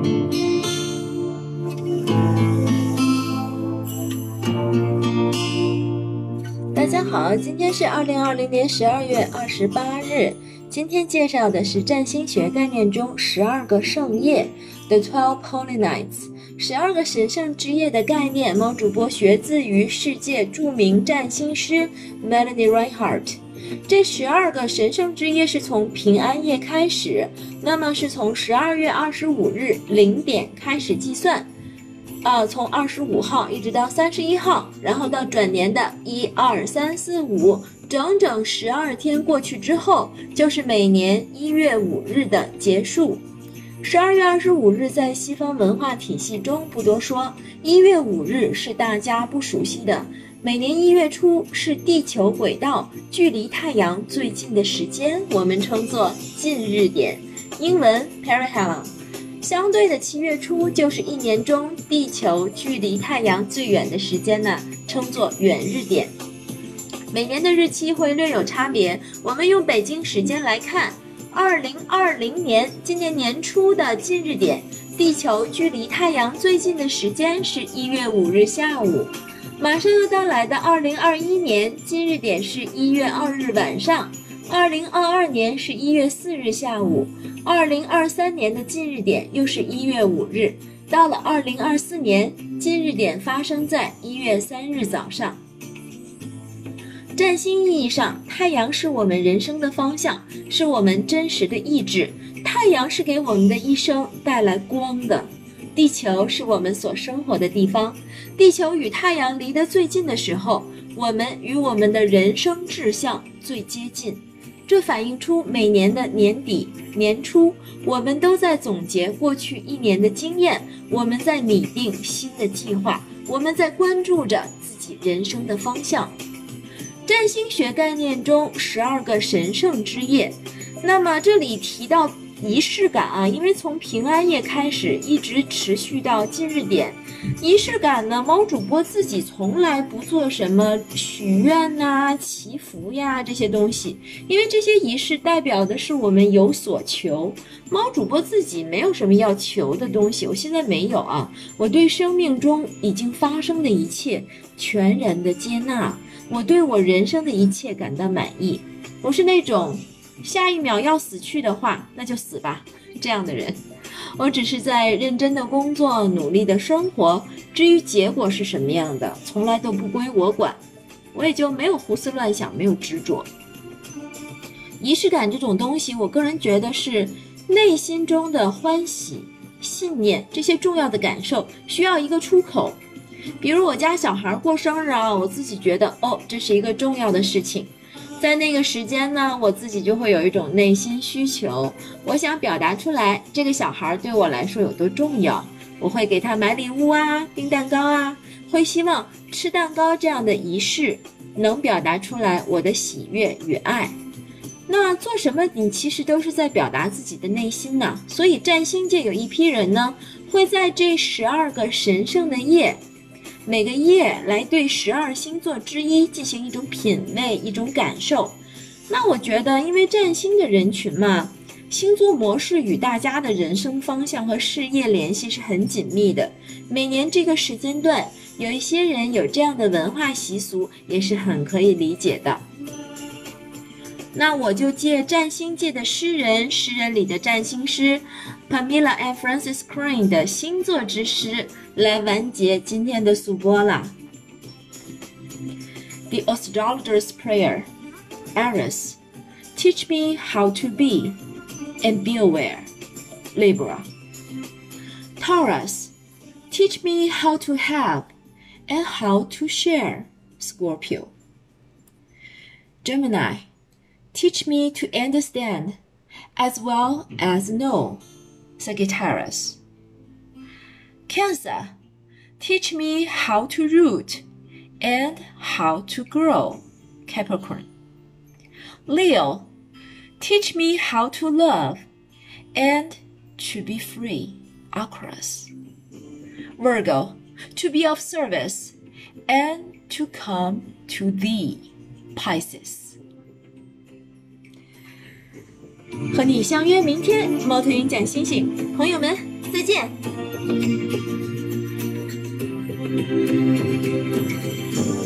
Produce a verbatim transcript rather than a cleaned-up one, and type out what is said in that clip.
大家好，今天是二零二零年十二月二十八日。今天介绍的是占星学概念中十二个圣夜 The Twelve Holy Nights， 十二个神圣之夜的概念。猫主播学自于世界著名占星师 Melanie Reinhardt。这十二个神圣之夜是从平安夜开始，那么是从十二月二十五日零点开始计算。呃，从二十五号一直到三十一号，然后到转年的一二三四五，整整十二天过去之后，就是每年一月五日的结束。十二月二十五日在西方文化体系中不多说，一月五日是大家不熟悉的。每年一月初是地球轨道距离太阳最近的时间，我们称作近日点，英文 perihelion。相对的七月初就是一年中地球距离太阳最远的时间呢，称作远日点。每年的日期会略有差别，我们用北京时间来看，二零二零年今年年初的近日点，地球距离太阳最近的时间是一月五日下午。马上要到来的二零二一年近日点是一月二日晚上，二零二二年是一月四日下午，二零二三年的近日点又是一月五日，到了二零二四年，近日点发生在一月三日早上。占星意义上，太阳是我们人生的方向，是我们真实的意志。太阳是给我们的一生带来光的。地球是我们所生活的地方，地球与太阳离得最近的时候，我们与我们的人生志向最接近。这反映出每年的年底、年初，我们都在总结过去一年的经验，我们在拟定新的计划，我们在关注着自己人生的方向。占星学概念中十二个神圣之夜，那么这里提到仪式感啊，因为从平安夜开始一直持续到近日点。仪式感呢，猫主播自己从来不做什么许愿啊、祈福呀这些东西，因为这些仪式代表的是我们有所求。猫主播自己没有什么要求的东西，我现在没有啊，我对生命中已经发生的一切全然的接纳，我对我人生的一切感到满意。我是那种下一秒要死去的话，那就死吧这样的人。我只是在认真的工作，努力的生活，至于结果是什么样的，从来都不归我管，我也就没有胡思乱想，没有执着。仪式感这种东西，我个人觉得是内心中的欢喜、信念，这些重要的感受需要一个出口。比如我家小孩过生日啊，我自己觉得哦，这是一个重要的事情。在那个时间呢，我自己就会有一种内心需求，我想表达出来这个小孩对我来说有多重要，我会给他买礼物啊，订蛋糕啊，会希望吃蛋糕这样的仪式能表达出来我的喜悦与爱。那做什么你其实都是在表达自己的内心呢，所以占星界有一批人呢，会在这十二个神圣的夜，每个夜来对十二星座之一进行一种品味，一种感受。那我觉得因为占星的人群嘛，星座模式与大家的人生方向和事业联系是很紧密的，每年这个时间段有一些人有这样的文化习俗也是很可以理解的。那我就借占星界的诗人，诗人里的占星师 Pamela and Francis Crane 的星座之诗来完结今天的速播了。 The Astrologer's Prayer Aries, teach me how to be and be aware. Libra. Taurus, teach me how to have and how to share. Scorpio. Gemini, teach me to understand as well as know. Sagittarius. Cancer, teach me how to root and how to grow. Capricorn. Leo, teach me how to love and to be free. Aquarius. Virgo, to be of service and to come to thee. Pisces. 和你相约明天，猫头鹰讲星星，朋友们再见。 见。